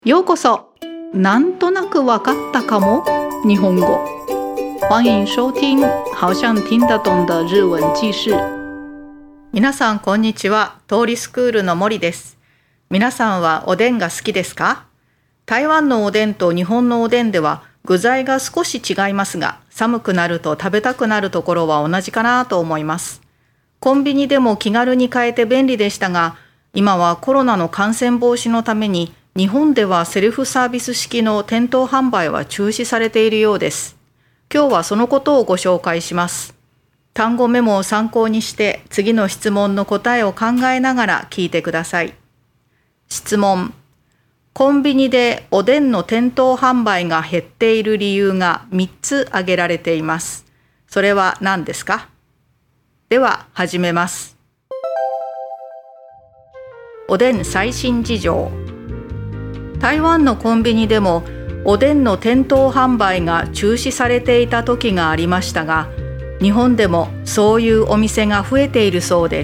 ようこそ。なんとなくわかったかも日本語。欢迎收听好像听得懂的日文記事。皆さんこんにちは。通りスクールの森です。皆さんはおでんが好きですか？台湾のおでんと日本のおでんでは具材が少し違いますが、寒くなると食べたくなるところは同じかなと思います。コンビニでも気軽に買えて便利でしたが、今はコロナの感染防止のために日本ではセルフサービス式の店頭販売は中止されているようです。今日はそのことをご紹介します。単語メモを参考にして次の質問の答えを考えながら聞いてください。質問。コンビニでおでんの店頭販売が減っている理由が3つ挙げられています。それは何ですか？では始めます。おでん最新事情。台湾のコンビニでもおでんの店頭販売が中止されていた時がありましたが、日本でもそういうお店が増えているそうです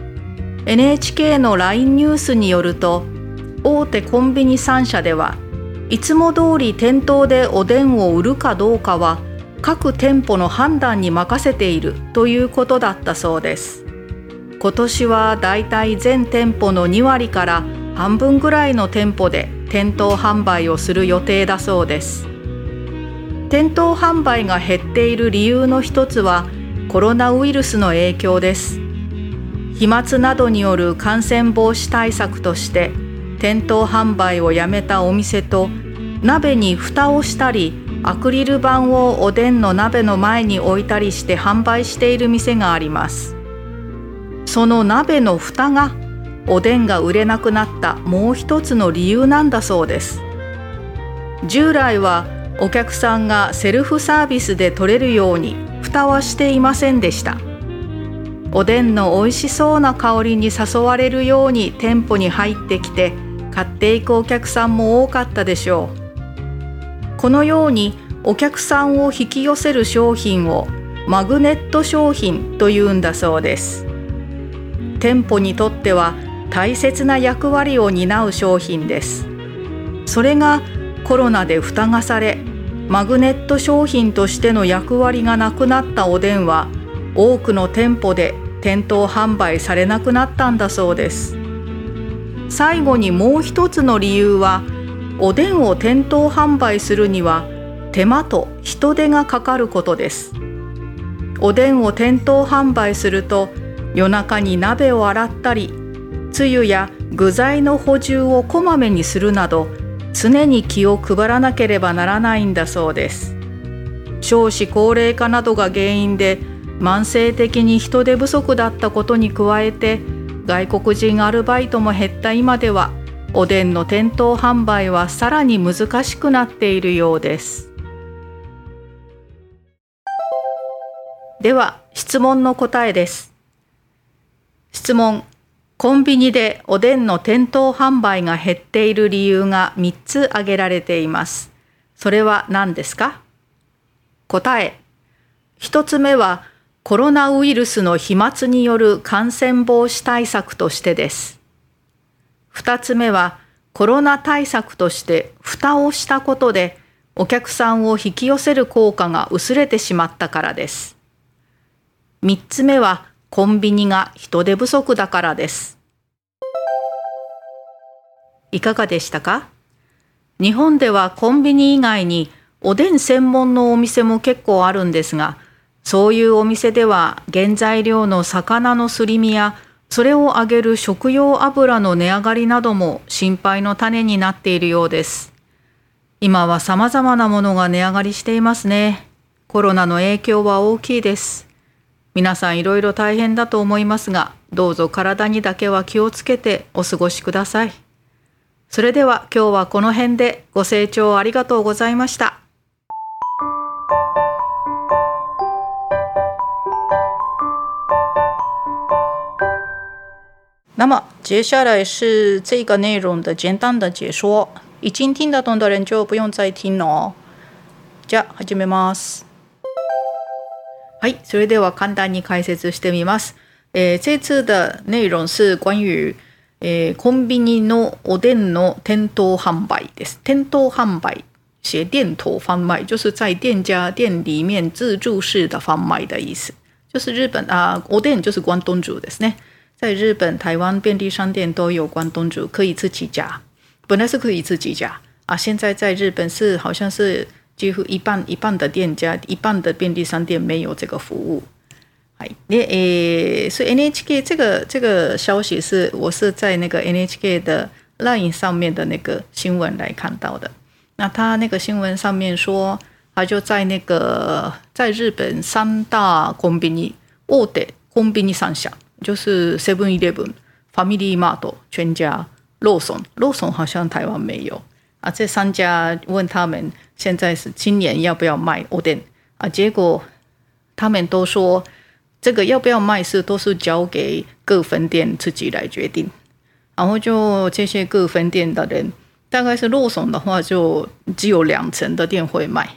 。NHK の LINE ニュースによると、大手コンビニ3社ではいつも通り店頭でおでんを売るかどうかは各店舗の判断に任せているということだったそうです。今年はだいたい全店舗の2割から半分ぐらいの店舗で店頭販売をする予定だそうです。店頭販売が減っている理由の一つはコロナウイルスの影響です。飛沫などによる感染防止対策として店頭販売をやめたお店と、鍋に蓋をしたりアクリル板をおでんの鍋の前に置いたりして販売している店があります。その鍋の蓋がおでんが売れなくなったもう一つの理由なんだそうです。従来はお客さんがセルフサービスで取れるように蓋はしていませんでした。おでんの美味しそうな香りに誘われるように店舗に入ってきて買っていくお客さんも多かったでしょう。このようにお客さんを引き寄せる商品をマグネット商品というんだそうです。店舗にとっては大切な役割を担う商品です。それがコロナで蓋がされ、マグネット商品としての役割がなくなったおでんは多くの店舗で店頭販売されなくなったんだそうです。最後にもう一つの理由は、おでんを店頭販売するには手間と人手がかかることです。おでんを店頭販売すると夜中に鍋を洗ったり、つゆや具材の補充をこまめにするなど、常に気を配らなければならないんだそうです。少子高齢化などが原因で慢性的に人手不足だったことに加えて、外国人アルバイトも減った今では、おでんの店頭販売はさらに難しくなっているようです。では、質問の答えです。質問。コンビニでおでんの店頭販売が減っている理由が3つ挙げられています。それは何ですか？答え。1つ目はコロナウイルスの飛沫による感染防止対策としてです。2つ目はコロナ対策として蓋をしたことでお客さんを引き寄せる効果が薄れてしまったからです。3つ目はコンビニが人手不足だからです。いかがでしたか？日本ではコンビニ以外におでん専門のお店も結構あるんですが、そういうお店では原材料の魚のすり身やそれを揚げる食用油の値上がりなども心配の種になっているようです。今は様々なものが値上がりしていますね。コロナの影響は大きいです。皆さんいろいろ大変だと思いますが、どうぞ体にだけは気をつけてお過ごしください。それでは今日はこの辺で。ご清聴ありがとうございました。那么接下来是这个内容的简单的解说，已经听得懂的人就不用再听了哦。じゃあ始めます。はい、それでは簡単に解説してみます。这次的内容是关于コンビニのおでんの店頭販売です。店頭販売写店头贩卖就是在店家店里面自助式的贩卖的意思。就是日本おでん就是关东煮ですね。在日本、台湾便利商店都有关东煮，可以自己加。本来是可以自己加现在在日本是好像是几乎一半的店家、一半的便利商店没有这个服务。所以 NHK 这个消息我是在那个 NHK 的 LINE 上面的那个新闻来看到的。那他那个新闻上面说，他就在那个在日本三大コンビニ大手コンビニ3社，就是 7-Eleven、Family Mart、全家、ローソン好像台湾没有这3家问他们现在是今年要不要卖おでん结果他们都说这个要不要卖都是交给各分店自己来决定。然后就这些各分店的人，大概是ローソン的话就只有2成的店会卖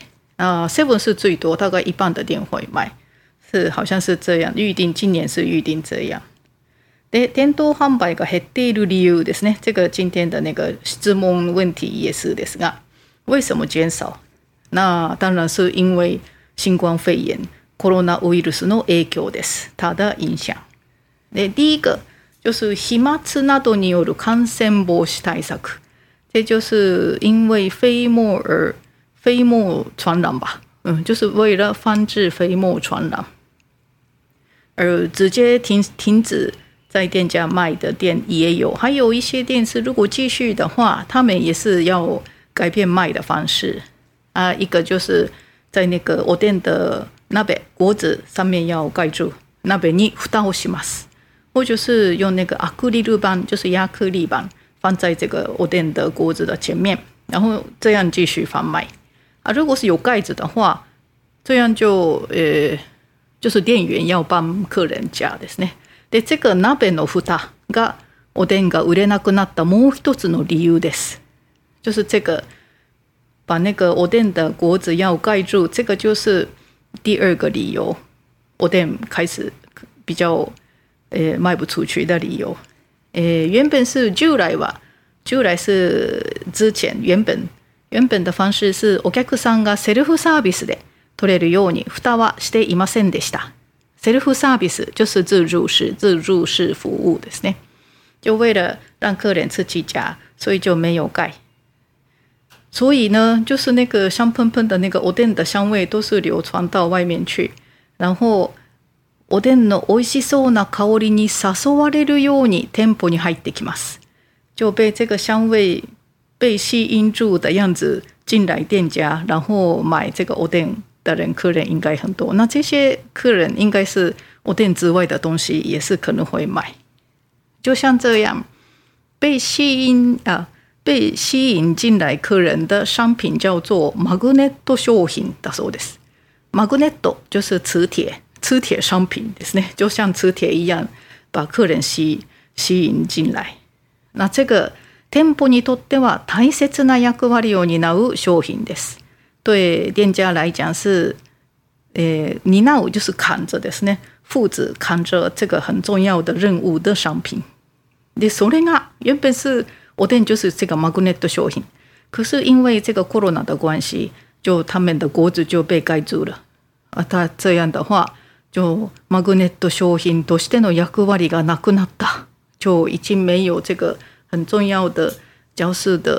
，7是最多，大概一半的店会卖，好像是这样。今年是预定这样。で、店頭販売が減っている理由ですね。这个今天的那个質問問題也是ですが，为什么减少？那当然是因为新冠肺炎コロナウイルスの影響です。它的影响。で、第一个就是飛沫などによる感染防止対策。这就是因为飞沫传染吧，就是为了防止飞沫传染，而直接停止在店家卖的店也有，还有一些店是如果继续的话，他们也是要改变卖的方式一个就是在那个おでん的鍋锅子上面要盖住，鍋に蓋をします，或就是用那个アクリル板，就是亚克力板。放在这个おでん的锅子的前面，然后这样继续贩卖如果是有盖子的话，这样就是店员要帮客人加ですね。で、这个鍋の蓋がおでんが売れなくなったもう一つの理由です。就是这个把那个おでん的锅子要盖住，这个就是第二个理由，おでん开始比较卖不出去的理由。原本是従来是之前原本的方式是お客さんがセルフサービスで取れるように蓋はしていませんでした。セルフサービス就是自助式服务ですね。就为了让客人自己加，所以就没有盖。所以呢，就是那个香喷喷的那个おでん的香味都是流传到外面去，然后おでんの美味しそうな香りに誘われるように店舗に入ってきます。就被这个香味被吸引住的样子进来店家，然后买这个おでん的客人应该很多。那这些客人应该是おでん之外的东西也是可能会买。就像这样被吸引进来客人的商品叫做マグネット商品だそうです。マグネット就是磁铁商品ですね，就像磁铁一样把客人吸引进来。那这个店舗にとっては大切な役割を担う商品です。对店家来讲是担う就是扛着ですね，负责扛着这个很重要的任务的商品。で、それが原本是おでん就是这个マグネット商品，可是因为这个コロナ的关系，就他们的锅子就被盖住了。他这样的话，就マグネット商品としての役割がなくなった，就已经没有这个很重要的交涉的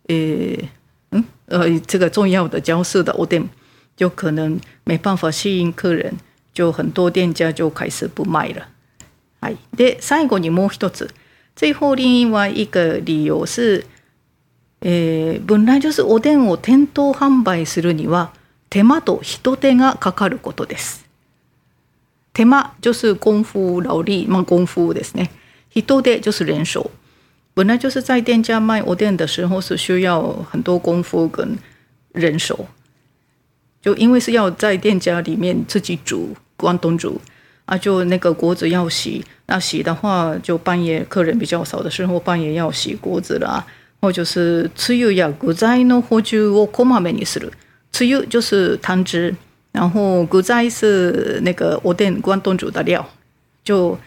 这个重要的交涉的おでん，就可能没办法吸引客人，就很多店家就开始不卖了。で、最後にもう一つ。最后另外一个理由是，本来就是おでんを店頭販売するには手間と人手がかかることです。手間就是功夫劳力，功夫ですね。人手就是人手。本来就是在店家卖おでん的时候是需要很多功夫跟人手，就因为是要在店家里面自己煮关东煮就那个锅子要洗，那洗的话就半夜客人比较少的时候半夜要洗锅子啦，或者是つゆや具材の補充をこまめにする。つゆ就是汤汁，然后具材是那个おでん关东煮的料，就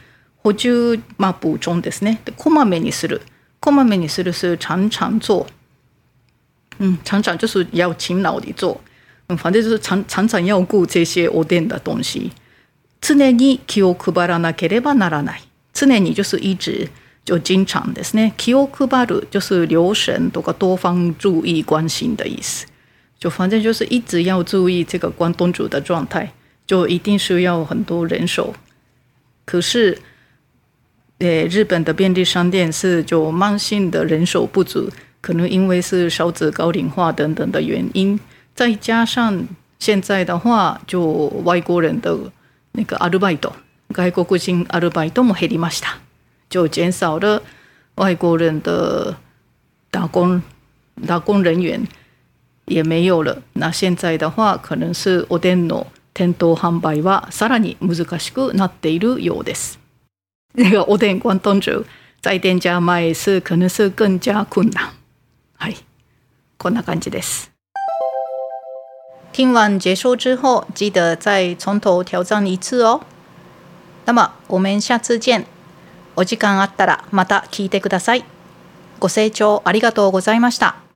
補充補充ですね。でこまめにする是常常做，常常就是要勤劳地做，反正就是常常要顾这些おでん的东西。常に気を配らなければならない。常に就是一直就经常ですね。気を配る就是留神とか多方注意关心的意思。就反正就是一直要注意这个关东煮的状态，就一定需要很多人手。可是日本的便利商店是就慢性的人手不足，可能因为是少子高龄化等等的原因，再加上现在的话就外国人的那个アルバイト，外国人アルバイトも減りました，就减少了外国人的打工人员也没有了。那现在的话可能是おでんの店頭販売はさらに難しくなっているようです。那个おでん关东煮在店家卖是可能是更加困难。はい、こんな感じです。听完结束之后，记得再从头挑战一次哦。那么我们下次见。お時間あったらまた聞いてください。ご清聴ありがとうございました。